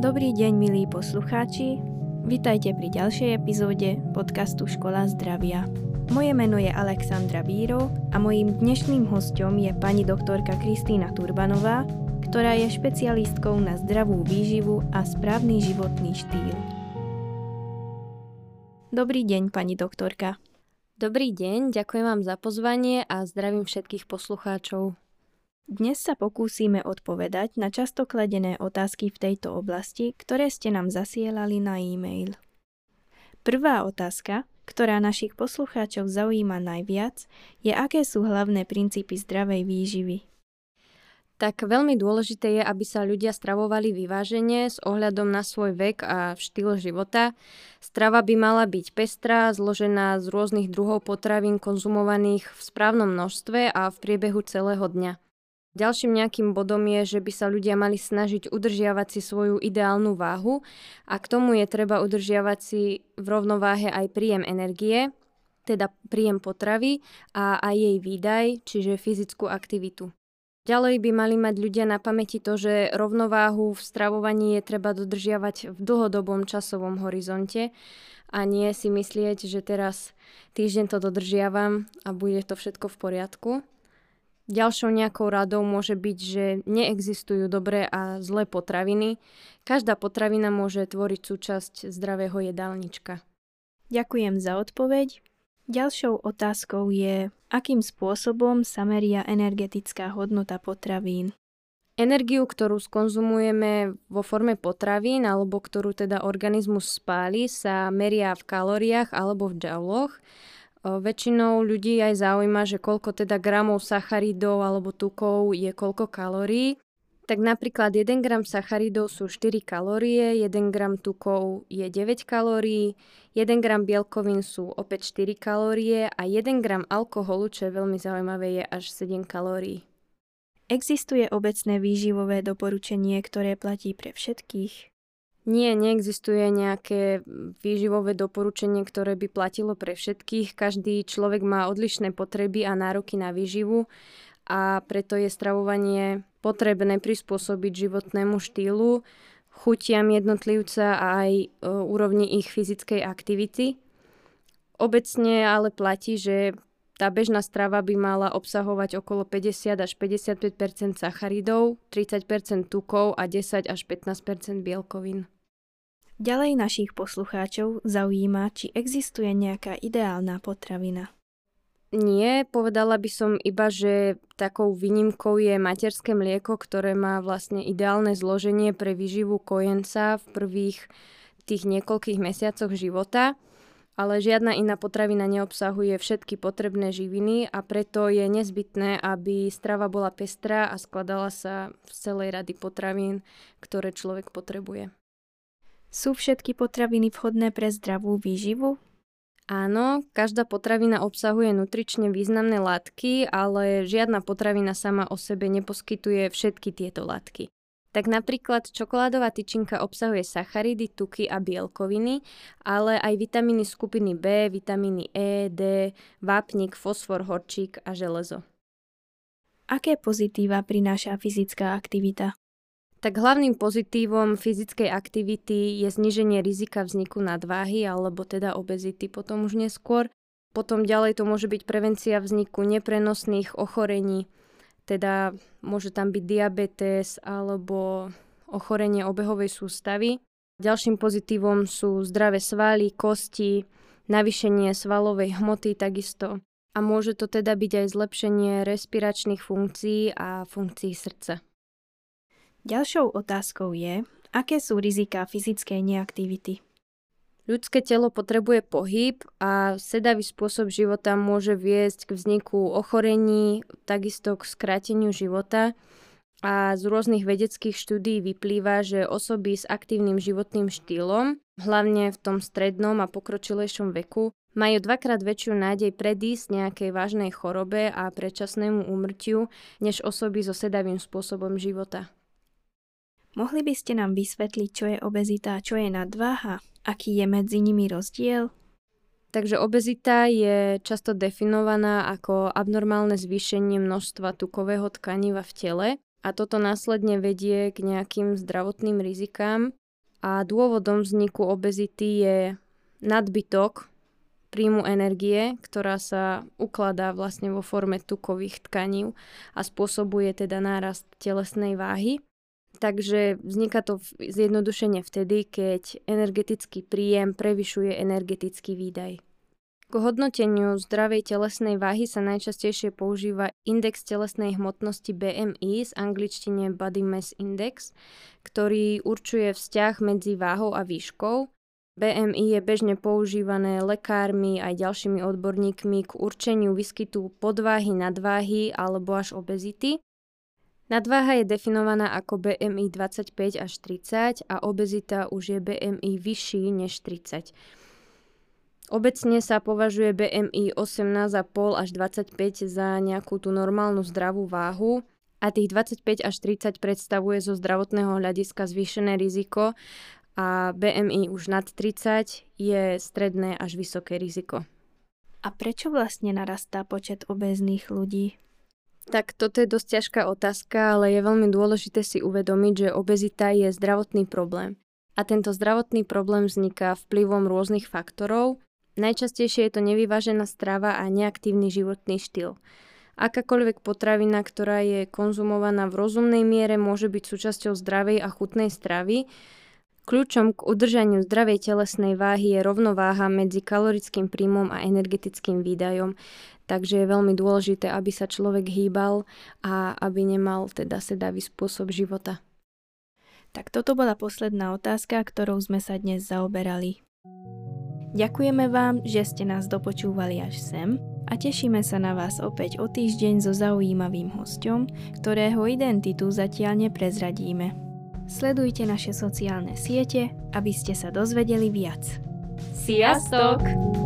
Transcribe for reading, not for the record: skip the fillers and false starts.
Dobrý deň, milí poslucháči. Vitajte pri ďalšej epizóde podcastu Škola zdravia. Moje meno je Alexandra Bírov a mojím dnešným hosťom je pani doktorka Kristína Turbanová, ktorá je špecialistkou na zdravú výživu a správny životný štýl. Dobrý deň, pani doktorka. Dobrý deň, ďakujem vám za pozvanie a zdravím všetkých poslucháčov. Dnes sa pokúsime odpovedať na často kladené otázky v tejto oblasti, ktoré ste nám zasielali na e-mail. Prvá otázka, ktorá našich poslucháčov zaujíma najviac, je, aké sú hlavné princípy zdravej výživy. Tak veľmi dôležité je, aby sa ľudia stravovali vyvážene s ohľadom na svoj vek a štýl života. Strava by mala byť pestrá, zložená z rôznych druhov potravín konzumovaných v správnom množstve a v priebehu celého dňa. Ďalším nejakým bodom je, že by sa ľudia mali snažiť udržiavať si svoju ideálnu váhu a k tomu je treba udržiavať si v rovnováhe aj príjem energie, teda príjem potravy a aj jej výdaj, čiže fyzickú aktivitu. Ďalej by mali mať ľudia na pamäti to, že rovnováhu v stravovaní je treba dodržiavať v dlhodobom časovom horizonte a nie si myslieť, že teraz týždeň to dodržiavam a bude to všetko v poriadku. Ďalšou nejakou radou môže byť, že neexistujú dobré a zlé potraviny. Každá potravina môže tvoriť súčasť zdravého jedálnička. Ďakujem za odpoveď. Ďalšou otázkou je, akým spôsobom sa meria energetická hodnota potravín. Energiu, ktorú skonzumujeme vo forme potravín alebo ktorú teda organizmus spáli, sa meria v kalóriách alebo v džauloch. Väčšinou ľudí aj zaujíma, že koľko teda gramov sacharidov alebo tukov je koľko kalórií. Tak napríklad 1 gram sacharidov sú 4 kalórie, 1 gram tukov je 9 kalórií, 1 gram bielkovín sú opäť 4 kalórie a 1 gram alkoholu, čo je veľmi zaujímavé, je až 7 kalórií. Existuje obecné výživové doporučenie, ktoré platí pre všetkých? Nie, neexistuje nejaké výživové doporučenie, ktoré by platilo pre všetkých. Každý človek má odlišné potreby a nároky na výživu a preto je stravovanie potrebné prispôsobiť životnému štýlu, chutiam jednotlivca a aj úrovni ich fyzickej aktivity. Obecne ale platí, že tá bežná strava by mala obsahovať okolo 50 až 55 sacharidov, 30 tukov a 10 až 15 bielkovín. Ďalej našich poslucháčov zaujíma, či existuje nejaká ideálna potravina. Nie, povedala by som iba, že takou výnimkou je materské mlieko, ktoré má vlastne ideálne zloženie pre výživu kojenca v prvých tých niekoľkých mesiacoch života, ale žiadna iná potravina neobsahuje všetky potrebné živiny a preto je nezbytné, aby strava bola pestrá a skladala sa z celej rady potravín, ktoré človek potrebuje. Sú všetky potraviny vhodné pre zdravú výživu? Áno, každá potravina obsahuje nutrične významné látky, ale žiadna potravina sama o sebe neposkytuje všetky tieto látky. Tak napríklad čokoládová tyčinka obsahuje sacharidy, tuky a bielkoviny, ale aj vitamíny skupiny B, vitamíny E, D, vápnik, fosfor, horčík a železo. Aké pozitíva prináša fyzická aktivita? Tak hlavným pozitívom fyzickej aktivity je zníženie rizika vzniku nadváhy alebo teda obezity potom už neskôr. Potom ďalej to môže byť prevencia vzniku neprenosných ochorení, teda môže tam byť diabetes alebo ochorenie obehovej sústavy. Ďalším pozitívom sú zdravé svaly, kosti, navýšenie svalovej hmoty takisto. A môže to teda byť aj zlepšenie respiračných funkcií a funkcií srdca. Ďalšou otázkou je, aké sú riziká fyzickej neaktivity. Ľudské telo potrebuje pohyb a sedavý spôsob života môže viesť k vzniku ochorení, takisto k skráteniu života. A z rôznych vedeckých štúdií vyplýva, že osoby s aktívnym životným štýlom, hlavne v tom strednom a pokročilejšom veku, majú 2-krát väčšiu nádej predísť nejakej vážnej chorobe a predčasnému úmrtiu, než osoby so sedavým spôsobom života. Mohli by ste nám vysvetliť, čo je obezita a čo je nadváha? Aký je medzi nimi rozdiel? Takže obezita je často definovaná ako abnormálne zvýšenie množstva tukového tkaniva v tele a toto následne vedie k nejakým zdravotným rizikám. a dôvodom vzniku obezity je nadbytok príjmu energie, ktorá sa ukladá vlastne vo forme tukových tkaní a spôsobuje teda nárast telesnej váhy. Takže vzniká to zjednodušene vtedy, keď energetický príjem prevyšuje energetický výdaj. K hodnoteniu zdravej telesnej váhy sa najčastejšie používa index telesnej hmotnosti BMI, z angličtine Body Mass Index, ktorý určuje vzťah medzi váhou a výškou. BMI je bežne používané lekármi aj ďalšími odborníkmi k určeniu výskytu podváhy, nadváhy alebo až obezity. Nadváha je definovaná ako BMI 25 až 30 a obezita už je BMI vyšší než 30. Obecne sa považuje BMI 18,5 až 25 za nejakú tú normálnu zdravú váhu a tých 25 až 30 predstavuje zo zdravotného hľadiska zvýšené riziko a BMI už nad 30 je stredné až vysoké riziko. A prečo vlastne narastá počet obéznych ľudí? Tak toto je dosť ťažká otázka, ale je veľmi dôležité si uvedomiť, že obezita je zdravotný problém. A tento zdravotný problém vzniká vplyvom rôznych faktorov. Najčastejšie je to nevyvážená strava a neaktívny životný štýl. Akákoľvek potravina, ktorá je konzumovaná v rozumnej miere, môže byť súčasťou zdravej a chutnej stravy. Kľúčom k udržaniu zdravej telesnej váhy je rovnováha medzi kalorickým príjmom a energetickým výdajom. Takže je veľmi dôležité, aby sa človek hýbal a aby nemal teda sedavý spôsob života. Tak toto bola posledná otázka, ktorou sme sa dnes zaoberali. Ďakujeme vám, že ste nás dopočúvali až sem a tešíme sa na vás opäť o týždeň so zaujímavým hosťom, ktorého identitu zatiaľ neprezradíme. Sledujte naše sociálne siete, aby ste sa dozvedeli viac. Sziasztok!